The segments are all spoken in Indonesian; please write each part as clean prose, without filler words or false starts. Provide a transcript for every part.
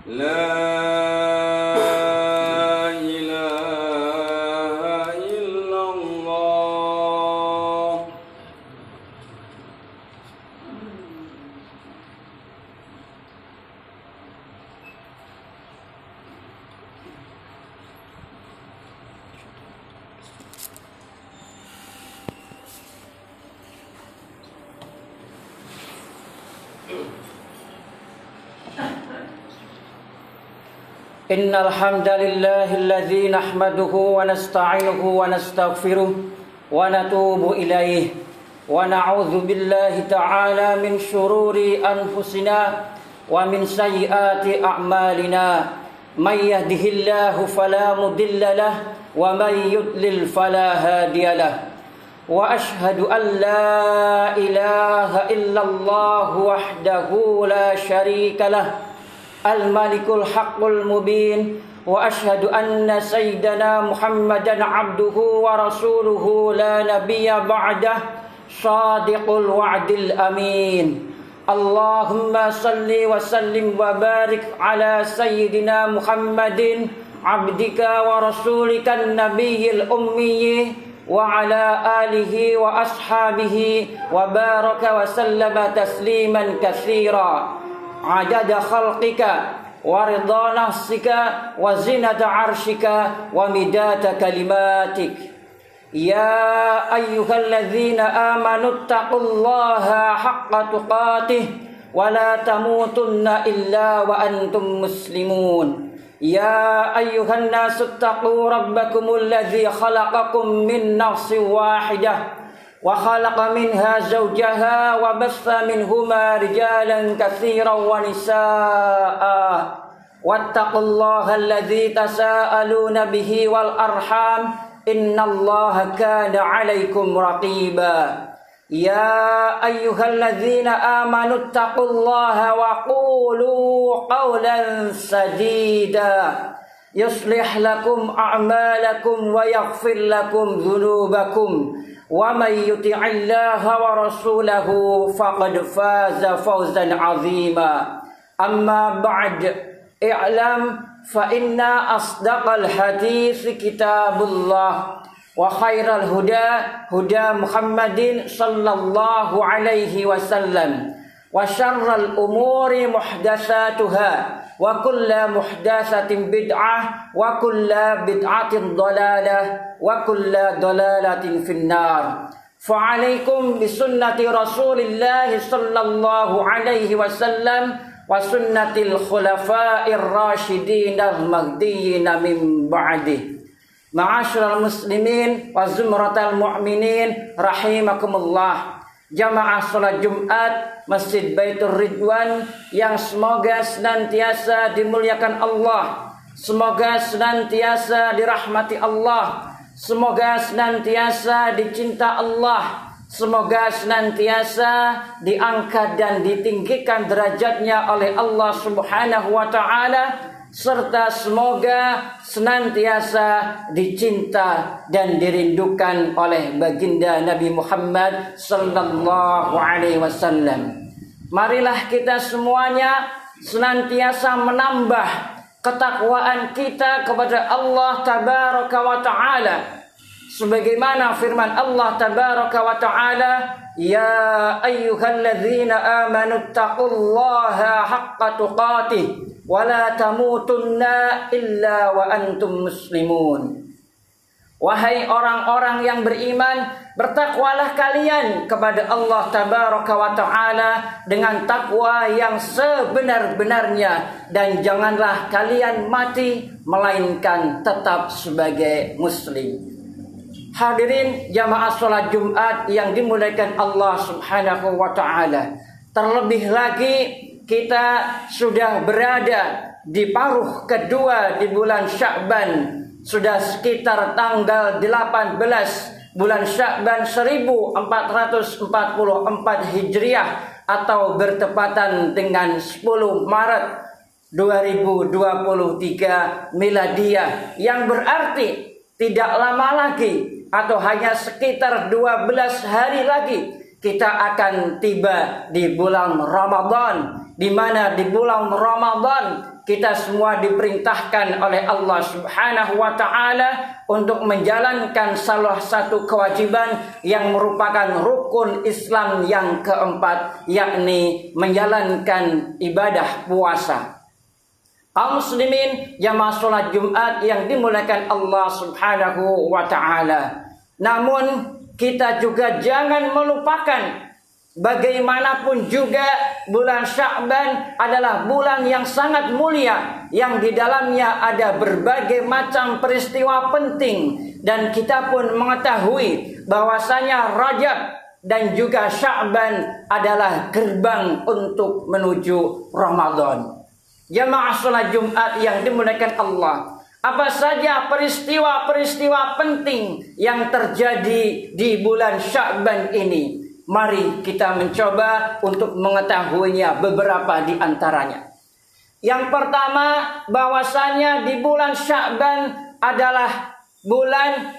ilaha illallah. Innal hamdalillahilladzi nahmaduhu wa nasta'inuhu wa nastaghfiruh wa natubu ilaihi wa na'udzu billahi ta'ala min shururi anfusina wa min sayyiati a'malina. May yahdihillahu fala mudilla lahu wa may yudlil fala hadiya lahu. Wa ashhadu an la ilaha illallah wahdahu la syarika lahu al-malikul haqqul mubin. Wa ashhadu anna sayyidana Muhammadan abduhu wa rasuluhu la nabiyya ba'dah shadiqul wa'dil amin. Allahumma salli wa sallim wa barik ala sayyidina Muhammadin abdika wa rasulika nabiyyil ummiyyi wa ala alihi wa ashabihi wa baraka wa sallama tasliman katsira adada khalqika wa ridha nafsika wa zinata arshika wa midata kalimatik. Ya ayyuhalladzina amanu taqullaha haqqa tuqatih wa la tamutunna illa wa antum muslimun. Ya ayyuhan nasu taqu rabbakumul ladzi khalaqakum min nafsin wahidah wa khalaqa minha zawjaha wa bassa minhuma rijalan katsiran wa nisaa. Wattaqullaha alladzi tasaaluna bihi wal arham innallaha kana 'alaikum raqiba. Ya ayyuhalladzina amanu taqullaha wa qulu qawlan sadida yuslih lakum a'malakum wa yaghfir lakum dhunubakum. Wa may yuti'illaha wa rasulahu faqad faza fawzan 'azima. Amma ba'd, i'lam fa inna asdaqal hadits kitabullah wa khairal huda huda Muhammadin sallallahu alaihi wasallam wa syarral umuri muhdatsatuha wa kullu muhdatsatin bid'ah wa kullu bid'atin dhalalah wa kullu dhalalatin finnar. Fa alaikum bi sunnati Rasulillah sallallahu alaihi wasallam wa sunnatil khulafa'ir rasyidin al-mahdiyyin min ba'di. Ma'asyiral muslimin wa zumratal mu'minin rahimakumullah. Jamaah salat Jumat Masjid Baitur Ridwan yang semoga senantiasa dimuliakan Allah, semoga senantiasa dirahmati Allah, semoga senantiasa dicinta Allah, semoga senantiasa diangkat dan ditinggikan derajatnya oleh Allah Subhanahu wa taala, serta semoga senantiasa dicinta dan dirindukan oleh baginda Nabi Muhammad sallallahu alaihi wasallam. Marilah kita semuanya senantiasa menambah ketakwaan kita kepada Allah tabaraka wa taala, sebagaimana firman Allah tabaraka wa taala, ya ayyuhalladzina amanu taqullaha haqqa tuqatih wa la tamutunna illa wa antum muslimun. Wahai orang-orang yang beriman, bertakwalah kalian kepada Allah tabaraka wa taala dengan takwa yang sebenar-benarnya, dan janganlah kalian mati melainkan tetap sebagai muslim. Hadirin jamaah salat Jumat yang dimuliakan Allah Subhanahu wa taala. Terlebih lagi kita sudah berada di paruh kedua di bulan Sya'ban. Sudah sekitar tanggal 18 bulan Sya'ban 1444 Hijriah atau bertepatan dengan 10 Maret 2023 Miladiyah, yang berarti tidak lama lagi atau hanya sekitar 12 hari lagi kita akan tiba di bulan Ramadan di mana di bulan Ramadan kita semua diperintahkan oleh Allah Subhanahu wa taala untuk menjalankan salah satu kewajiban yang merupakan rukun Islam yang keempat, yakni menjalankan ibadah puasa. Kaum muslimin jamaah salat Jumat yang dimuliakan Allah Subhanahu wa taala. Namun kita juga jangan melupakan bagaimanapun juga bulan Sya'ban adalah bulan yang sangat mulia, yang di dalamnya ada berbagai macam peristiwa penting, dan kita pun mengetahui bahwasanya Rajab dan juga Sya'ban adalah gerbang untuk menuju Ramadan. Jamaah salat Jumat yang dimuliakan Allah, apa saja peristiwa-peristiwa penting yang terjadi di bulan Sya'ban ini? Mari kita mencoba untuk mengetahuinya beberapa di antaranya. Yang pertama, bahwasanya di bulan Sya'ban adalah bulan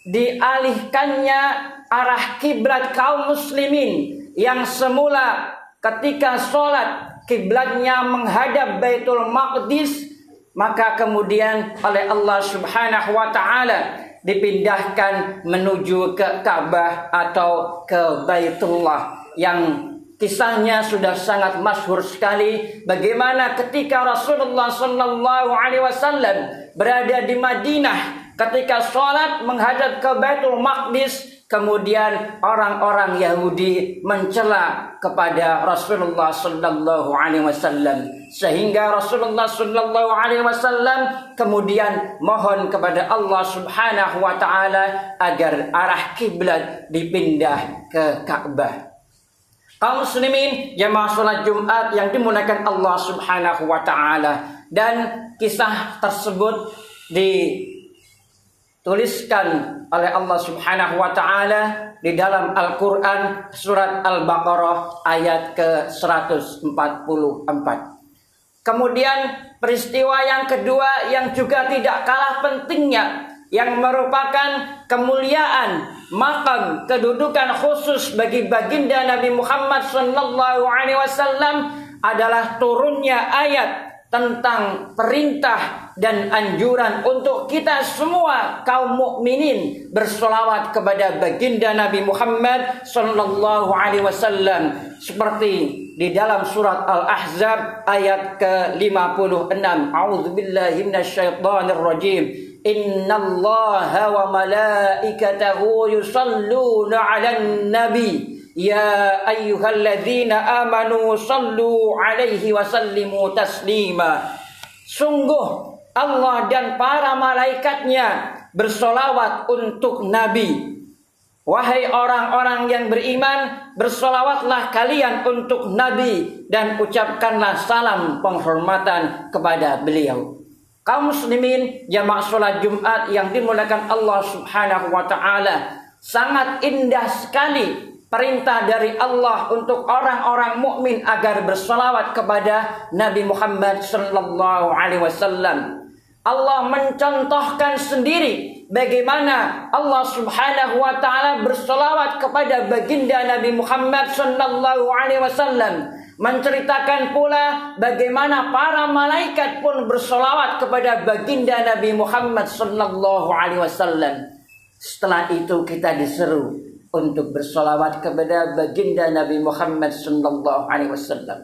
dialihkannya arah kiblat kaum muslimin yang semula ketika sholat kiblatnya menghadap Baitul Maqdis, maka kemudian oleh Allah Subhanahu wa taala dipindahkan menuju ke Ka'bah atau ke Baitullah, yang kisahnya sudah sangat masyhur sekali bagaimana ketika Rasulullah sallallahu alaihi wasallam berada di Madinah ketika sholat menghadap ke Baitul Maqdis, kemudian orang-orang Yahudi mencela kepada Rasulullah sallallahu alaihi wasallam, sehingga Rasulullah sallallahu alaihi wasallam kemudian mohon kepada Allah Subhanahu wa taala agar arah kiblat dipindah ke Ka'bah. Kaum muslimin jamaah salat Jumat yang dimuliakan Allah Subhanahu wa taala, dan kisah tersebut dituliskan oleh Allah Subhanahu wa taala di dalam Al-Qur'an surat Al-Baqarah ayat ke-144. Kemudian peristiwa yang kedua yang juga tidak kalah pentingnya, yang merupakan kemuliaan makam kedudukan khusus bagi baginda Nabi Muhammad sallallahu alaihi wasallam, adalah turunnya ayat tentang perintah dan anjuran untuk kita semua kaum mukminin bersolawat kepada baginda Nabi Muhammad sallallahu alaihi wasallam, seperti di dalam surat Al-Ahzab ayat ke-56. A'udzubillahi minasyaitonir rajim. Innallaha wa malaikatahu yusalluna 'alan nabi. Ya ayyuhalladzina amanu sallu alaihi wa sallimu taslima. Sungguh Allah dan para malaikatnya bersolawat untuk Nabi. Wahai orang-orang yang beriman, bersolawatlah kalian untuk Nabi dan ucapkanlah salam penghormatan kepada beliau. Kaum muslimin jamaah salat Jumat yang dimuliakan Allah Subhanahu wa taala, sangat indah sekali perintah dari Allah untuk orang-orang mukmin agar bersolawat kepada Nabi Muhammad sallallahu alaihi wasallam. Allah mencontohkan sendiri bagaimana Allah Subhanahu wa taala bersolawat kepada baginda Nabi Muhammad sallallahu alaihi wasallam, menceritakan pula bagaimana para malaikat pun bersolawat kepada baginda Nabi Muhammad sallallahu alaihi wasallam. Setelah itu kita diseru untuk bersolawat kepada baginda Nabi Muhammad sallallahu alaihi wasallam,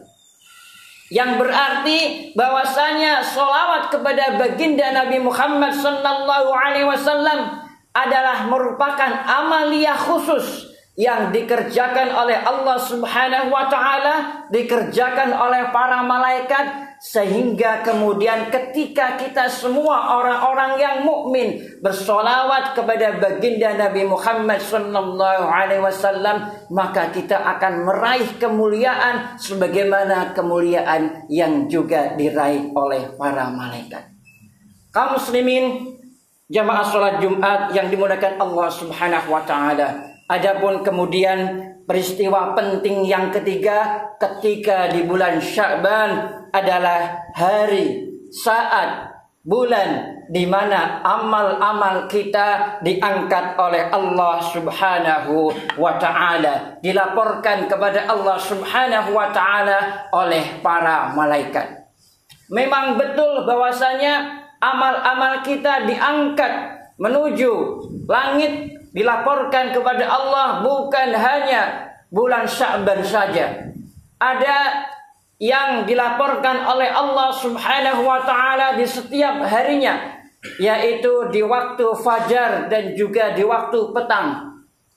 yang berarti bahwasanya solawat kepada baginda Nabi Muhammad sallallahu alaihi wasallam adalah merupakan amaliyah khusus yang dikerjakan oleh Allah Subhanahu wa taala, dikerjakan oleh para malaikat, sehingga kemudian ketika kita semua orang-orang yang mukmin bersolawat kepada baginda Nabi Muhammad sallallahu alaihi wasallam, maka kita akan meraih kemuliaan sebagaimana kemuliaan yang juga diraih oleh para malaikat. Kaum muslimin jamaah salat Jumat yang dimuliakan Allah Subhanahu wa taala, adapun kemudian peristiwa penting yang ketiga ketika di bulan Sya'ban adalah hari, saat bulan di mana amal-amal kita diangkat oleh Allah Subhanahu wa ta'ala, dilaporkan kepada Allah Subhanahu wa ta'ala oleh para malaikat. Memang betul bahwasanya amal-amal kita diangkat menuju langit, dilaporkan kepada Allah bukan hanya bulan Sya'ban saja. Ada yang dilaporkan oleh Allah Subhanahu wa ta'ala di setiap harinya, yaitu di waktu fajar dan juga di waktu petang.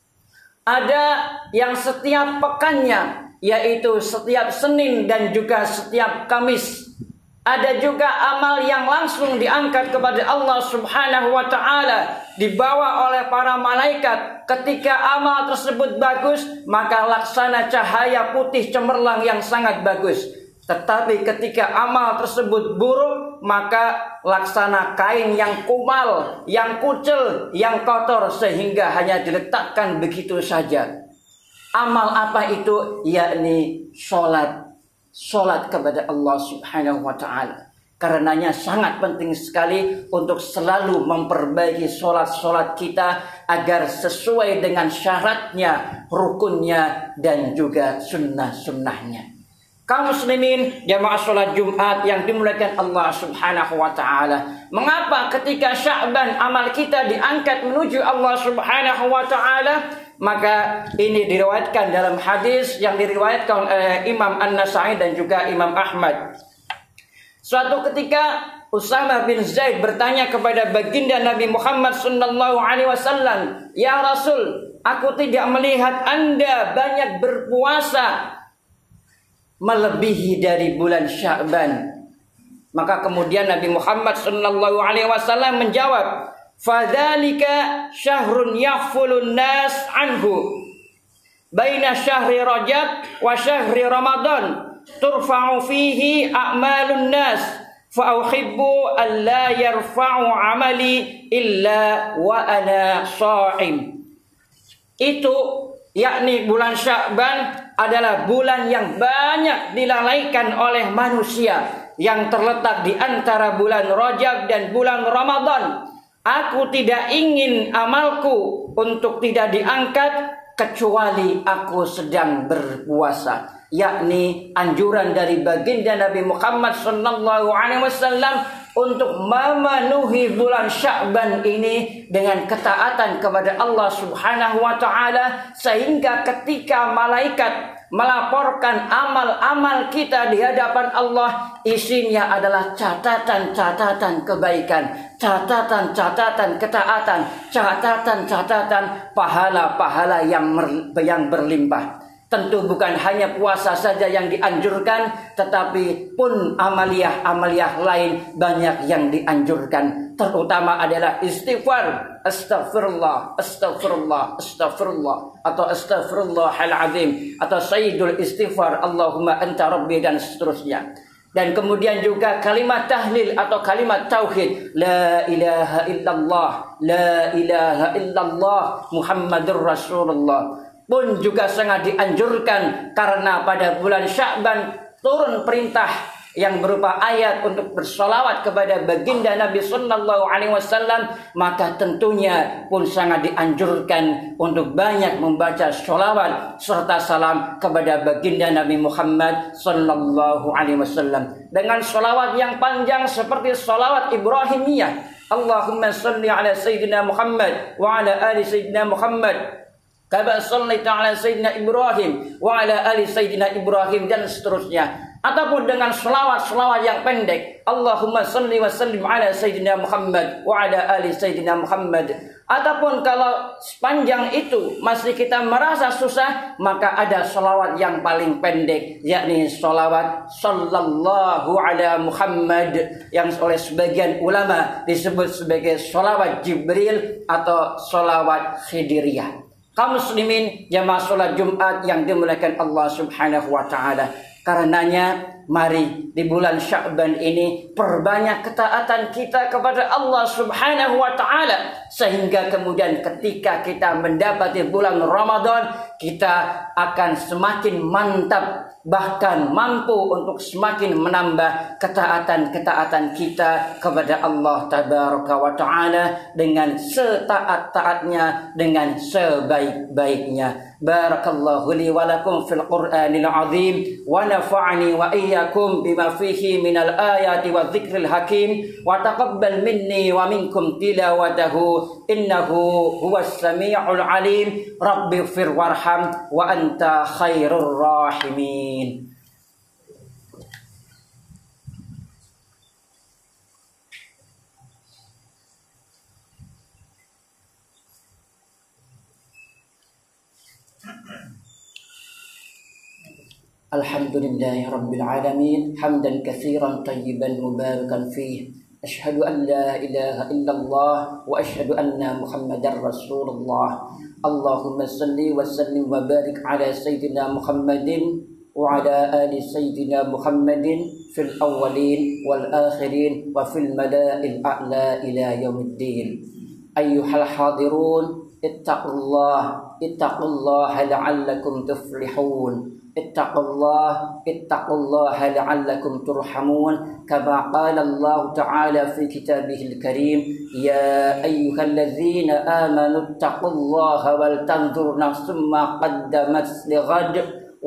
Ada yang setiap pekannya, yaitu setiap Senin dan juga setiap Kamis. Ada juga amal yang langsung diangkat kepada Allah Subhanahu wa ta'ala, dibawa oleh para malaikat. Ketika amal tersebut bagus, maka laksana cahaya putih cemerlang yang sangat bagus. Tetapi ketika amal tersebut buruk, maka laksana kain yang kumal, yang kucel, yang kotor, sehingga hanya diletakkan begitu saja. Amal apa itu? Yakni Sholat kepada Allah Subhanahu wa ta'ala. Karenanya sangat penting sekali untuk selalu memperbaiki sholat kita agar sesuai dengan syaratnya, rukunnya, dan juga sunnah-sunnahnya. Kaum muslimin jamaah sholat Jumat yang dimuliakan Allah Subhanahu wa ta'ala, mengapa ketika Sya'ban amal kita diangkat menuju Allah Subhanahu wa ta'ala? Maka ini diriwayatkan dalam hadis yang diriwayatkan oleh Imam An-Nasa'i dan juga Imam Ahmad. Suatu ketika Usamah bin Zaid bertanya kepada baginda Nabi Muhammad sallallahu alaihi wasallam, "Ya Rasul, aku tidak melihat Anda banyak berpuasa melebihi dari bulan Sya'ban." Maka kemudian Nabi Muhammad sallallahu alaihi wasallam menjawab, "Fadzalika syahrun yaghfulun nas anhu baina syahri Rajab wa syahri Ramadan turfa'u fihi a'malun nas fa uhibbu an la yarfa'u 'amali illa wa ana sha'im." Itu yakni bulan Sya'ban adalah bulan yang banyak dilalaikan oleh manusia, yang terletak di antara bulan Rajab dan bulan Ramadan. Aku tidak ingin amalku untuk tidak diangkat kecuali aku sedang berpuasa. Yakni anjuran dari baginda Nabi Muhammad sallallahu alaihi wasallam untuk memenuhi bulan Sya'ban ini dengan ketaatan kepada Allah Subhanahu wa ta'ala, sehingga ketika malaikat melaporkan amal-amal kita di hadapan Allah, isinya adalah catatan-catatan kebaikan, catatan-catatan ketaatan, catatan-catatan pahala-pahala yang berlimpah. Tentu bukan hanya puasa saja yang dianjurkan, tetapi pun amaliyah-amaliyah lain banyak yang dianjurkan. Terutama adalah istighfar, astaghfirullah, astaghfirullah, astaghfirullah, atau astaghfirullahal azim, atau sayyidul istighfar, Allahumma anta rabbi, dan seterusnya. Dan kemudian juga kalimat tahlil atau kalimat tauhid, la ilaha illallah, la ilaha illallah, Muhammadur Rasulullah, pun juga sangat dianjurkan, karena pada bulan Sya'ban turun perintah yang berupa ayat untuk bersolawat kepada baginda Nabi sallallahu alaihi wasallam. Maka tentunya pun sangat dianjurkan untuk banyak membaca sholawat serta salam kepada baginda Nabi Muhammad sallallahu alaihi wasallam dengan sholawat yang panjang seperti sholawat Ibrahimiyah, Allahumma salli ala Sayyidina Muhammad wa ala ali Sayyidina Muhammad kama shallaita ala Sayyidina Ibrahim wa ala ali Sayyidina Ibrahim, dan seterusnya. Ataupun dengan selawat-selawat yang pendek, Allahumma salli wa sallim ala Sayyidina Muhammad wa ala ali Sayyidina Muhammad. Ataupun kalau sepanjang itu masih kita merasa susah, maka ada selawat yang paling pendek, yakni selawat sallallahu ala Muhammad, yang oleh sebagian ulama disebut sebagai selawat Jibril atau selawat Khidiriyah. Kaum muslimin jamaah sholat Jumat yang dimuliakan Allah Subhanahu wa ta'ala, karenanya mari di bulan Sya'ban ini perbanyak ketaatan kita kepada Allah Subhanahu wa ta'ala, sehingga kemudian ketika kita mendapati bulan Ramadan, kita akan semakin mantap bahkan mampu untuk semakin menambah ketaatan-ketaatan kita kepada Allah Tabaraka wa Ta'ala dengan setaat-taatnya, dengan sebaik-baiknya. Barakallahu li wa lakum fil Qur'anil azim wa nafa'ani wa iyyakum bima fihi minal ayati wa dzikril hakim wa taqabbal minni wa minkum tilawatahu innahu huwas sami'ul alim. Rabbighfir warham wa anta khairur rahimin. Alhamdulillahi rabbil alamin hamdan katsiran tayyiban mubarakan fih. Asyhadu an la ilaha illallah wa asyhadu anna Muhammadar Rasulullah. Allahumma salli wa sallim wa barik ala sayyidina Muhammadin wa ala ali sayyidina Muhammadin fil awwalin wal akhirin wa fil mala'il a'la ila yaumiddin. Ayyuhal hadirun ittaqullaha la'allakum tuflihun. ittaqullaha la'allakum turhamun. Kama qala Allah Ta'ala fi kitabihil karim, ya ayyuhalladzina amanu ittaqullaha wal tanzur nafsum ma qaddamat lighad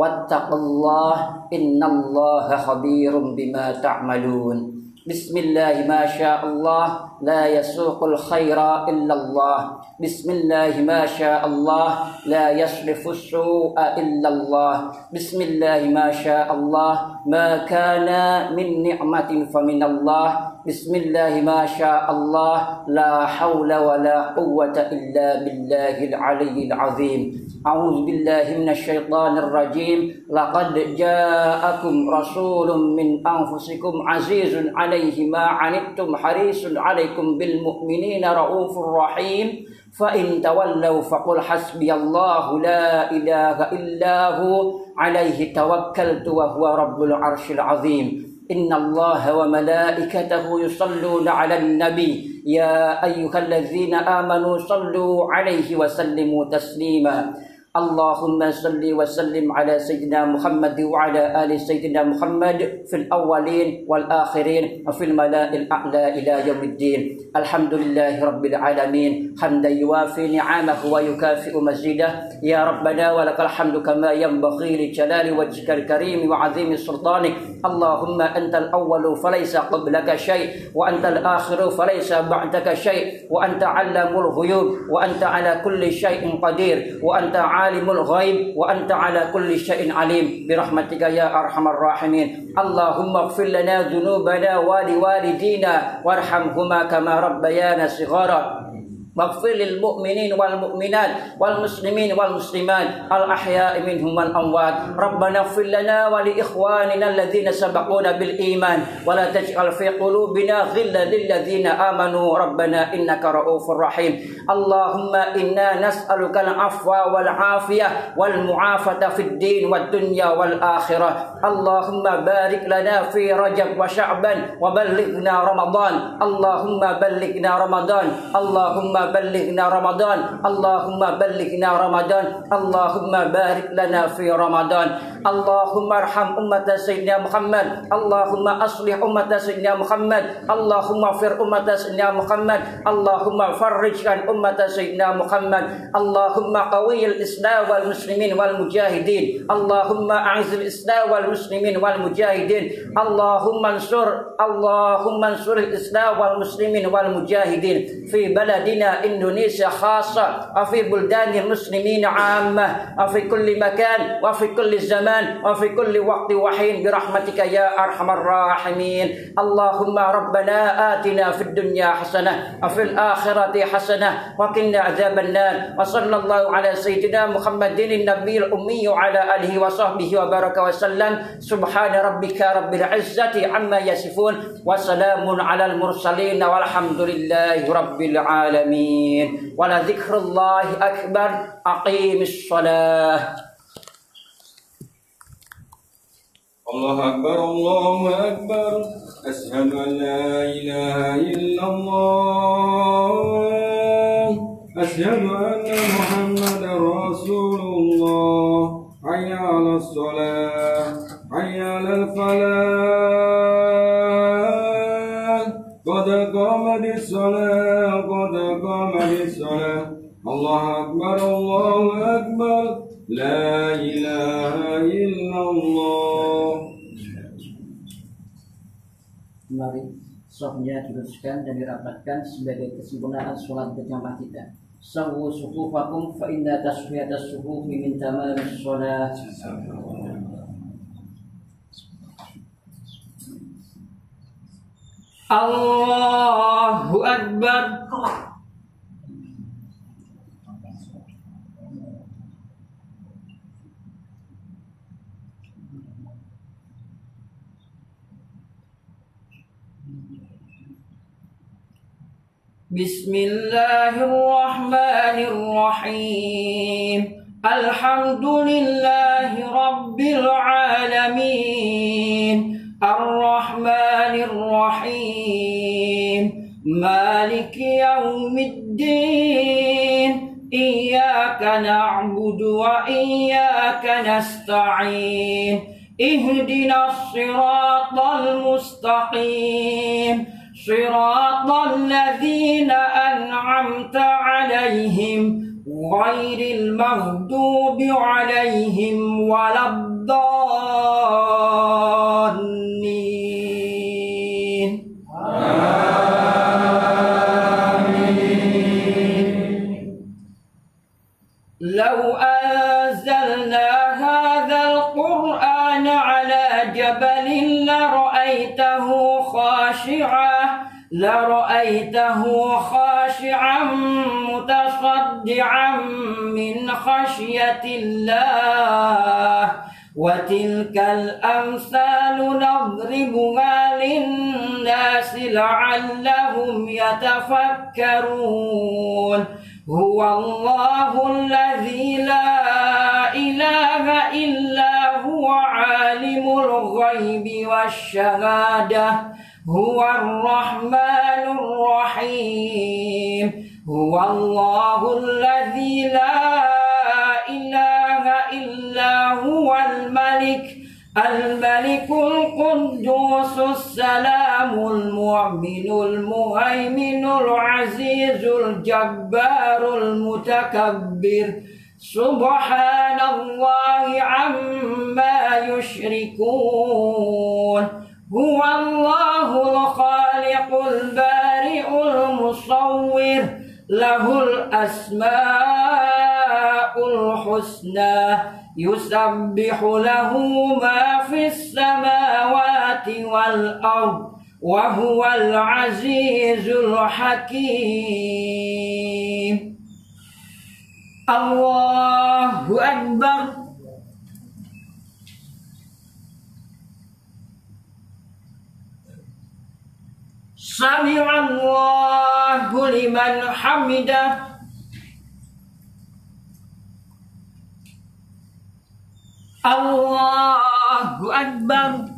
wattaqullaha innallaha khabirum bima ta'malun. Bismillah ma sya Allah la yasuqul khaira illallah. Bismillah ma sya Allah la yasrifu su'a illallah. Bismillah ma sya Allah ma kana min ni'matin faminallah. Bismillah ma sya Allah la hawla wa la quwwata illa billahil aliyyil azim. A'udzu billahi minasyaitonir rajim. Laqad ja'akum rasulun min anfusikum azizun 'alaihi ma 'anittum harisun 'alaikum bil mu'minina raufur rahim. Fa in tawallaw faqul hasbiyallahu la ilaha illahu 'alaihi tawakkaltu wa huwa rabbul arsyil 'azim. Innallaha wa malaikatahu yusalluna 'alan nabi ya ayyuhalladzina amanu sallu 'alaihi wa sallimu taslima. Allahumma salli wa sallim ala sayyidina Muhammad wa ala ali sayyidina Muhammad fil awwalin wal akhirin wa fil mala'il a'la ila yaumiddin. Alhamdulillahi rabbil alamin hamdan yuwafi ni'amahu wa yukafi'u mazidah. Ya Rabbana wa lakal hamdu kama yanbaghi li jalali wajhikal karim wa 'azimi sultanik. Allahumma antal awwalu falaysa qablaka syai' wa antal akhiru falaysa ba'daka syai' wa anta 'allamul ghuyub wa anta 'ala kulli syai'in qadir wa anta alimul ghaib wa anta ala kulli syai'in alim birahmatika ya arhamar rahimin. Allahumma ighfir lana dhunubana wa liwalidina warhamhuma kama rabbayana shighara. Waghfir lil mu'minin wal mu'minat wal muslimin wal muslimat al ahya'i minhum wal amwat. Rabbana ighfir lana wa li ikhwanina alladhina sabaquna bil iman wa la taj'al fi qulubina ghillan lil ladzina amanu rabbana innaka ra'ufur rahim. Allahumma inna nas'aluka al afwa wal afiyah wal mu'afata fid din wad dunya wal akhirah. Allahumma barik lana fi Rajab wa Sya'ban wa ballighna Ramadan. Allahumma ballighna Ramadan. Allahumma بلغنا رمضان. اللهم بلغنا رمضان. اللهم بارك لنا في رمضان. اللهم ارحم أمة سيدنا محمد. اللهم أصلح أمة سيدنا محمد. اللهم اغفر أمة سيدنا محمد. اللهم فرج عن أمة سيدنا محمد. اللهم قوي الإسلام والمسلمين والمجاهدين. اللهم أعز الإسلام والمسلمين والمجاهدين. اللهم انصر الإسلام والمسلمين والمجاهدين في بلدنا Indonesia khassa wa fi buldanil muslimin 'ammah wa fi kulli makan wa fi kulli zaman wa fi kulli waqti wa hin bi rahmatika ya arhamar rahimin. Allahumma rabbana atina fid dunya hasanah wa fil akhirati hasanah wa qina adzaban nar. Wa sallallahu ala sayyidina Muhammadin nabiyil ummi wa ala alihi wa sahbihi wa baraka wa sallam. Subhana rabbika rabbil izzati amma yasifun wa salamun alal mursalin walhamdulillahi rabbil alamin. Wala dzikrullahi akbar. Aqimis shalah. Allahu akbar, Allahu akbar. Asyhadu an la ilaha illallah. Asyhadu anna Muhammadar Rasulullah. Hayya 'alas shalah. قد قامت الصلاة قد قامت الصلاة الله أكبر الله أكبر لا إله إلا الله. Mari safnya diluruskan dan dirapatkan sebagai kesempurnaan sholat berjamaah kita. Sawwu sufufakum fa inna taswiyatas sufufi min tamamis sholat. Allahu Akbar. Bismillahirrahmanirrahim. Alhamdulillahi Rabbil alamin. Ar-Rahmanir Rahim. Maliki yaumiddin. Iyyaka na'budu wa iyyaka nasta'in. Ihdinas siratal mustaqim. Siratal ladzina an'amta 'alaihim ghairil maghdubi 'alaihim waladdallin. Amin. Law anzalna hadzal qur'ana 'ala jabalin la ra'aitahu khashi'an mutasaddi'an min khashyatillah. Wa tilkal amsalu nadribuha lin-nasi la'allahum yatafakkarun. Huwallahu alladzi la ilaha illa huwa 'alimul ghaibi wasyahadah. Huwar rahmanur rahim. Huwallahu alladzi la ilaha illa huwal malik al-malikul quddusus salamul mu'minul muhaiminul azizul jabbarul mutakabbir. Subhanallahi amma yushrikun. Huwallahul khaliqul bari'ul musawwir. Lahul asma'ul husna. Yusabbihu lahu ma fis samawati wal ard. Wa huwal azizul hakim. Allahu Akbar. Sami'allahu liman hamidah. Allahu Akbar.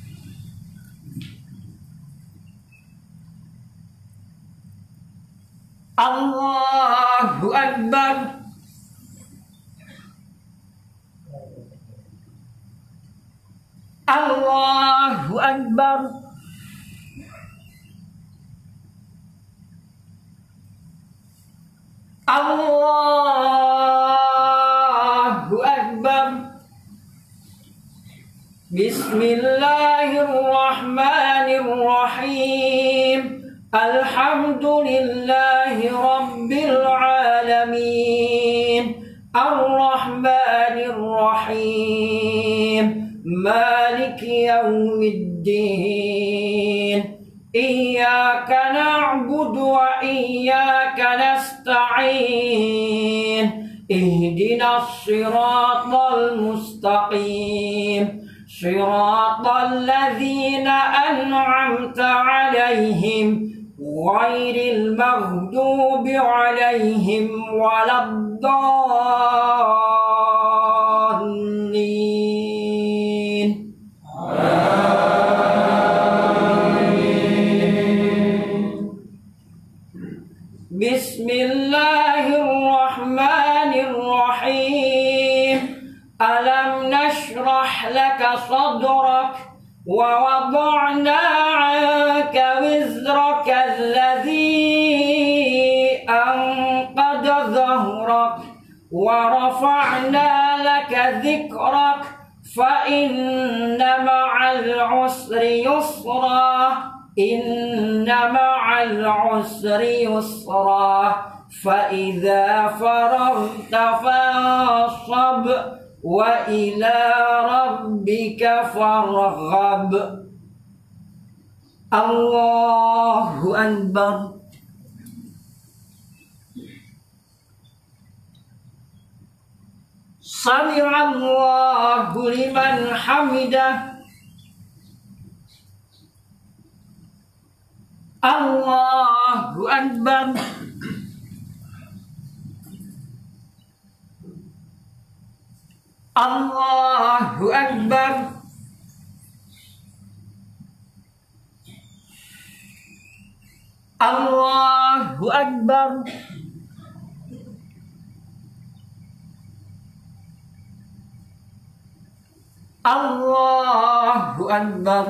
Allahu Akbar. Allahu Akbar. Allahu Akbar. Bismillahirrahmanirrahim. Alhamdulillahi Rabbil alamin. Ar-Rahmanir Rahim. Maliki yaumiddin. Iyyaka na'budu wa iyyaka nasta'in. Ihdinas siratal mustaqim. Siratal ladzina an'amta 'alaihim ghairil maghdubi 'alaihim waladdallin. Bismillahirrahmanirrahim. Alam nashrah laka sadrak wa wada'na 'anka wizrak ورفعنا لك ذكرك فإن مع العسر يسرا إن مع العسر يسرا فإذا فرغت فانصب وإلى ربك فارغب. الله أكبر. سمع الله لمن حمده. الله أكبر. الله أكبر. الله أكبر. الله أكبر.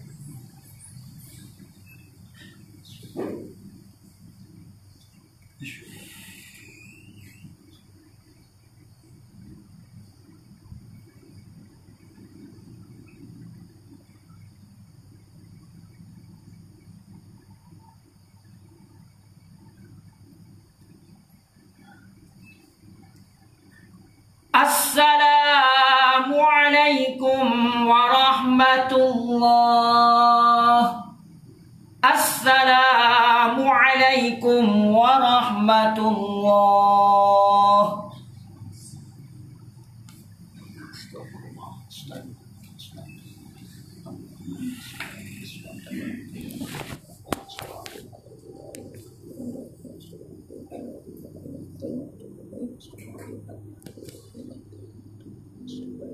Assalamu alaikum warahmatullah. Assalamu alaikum warahmatullah.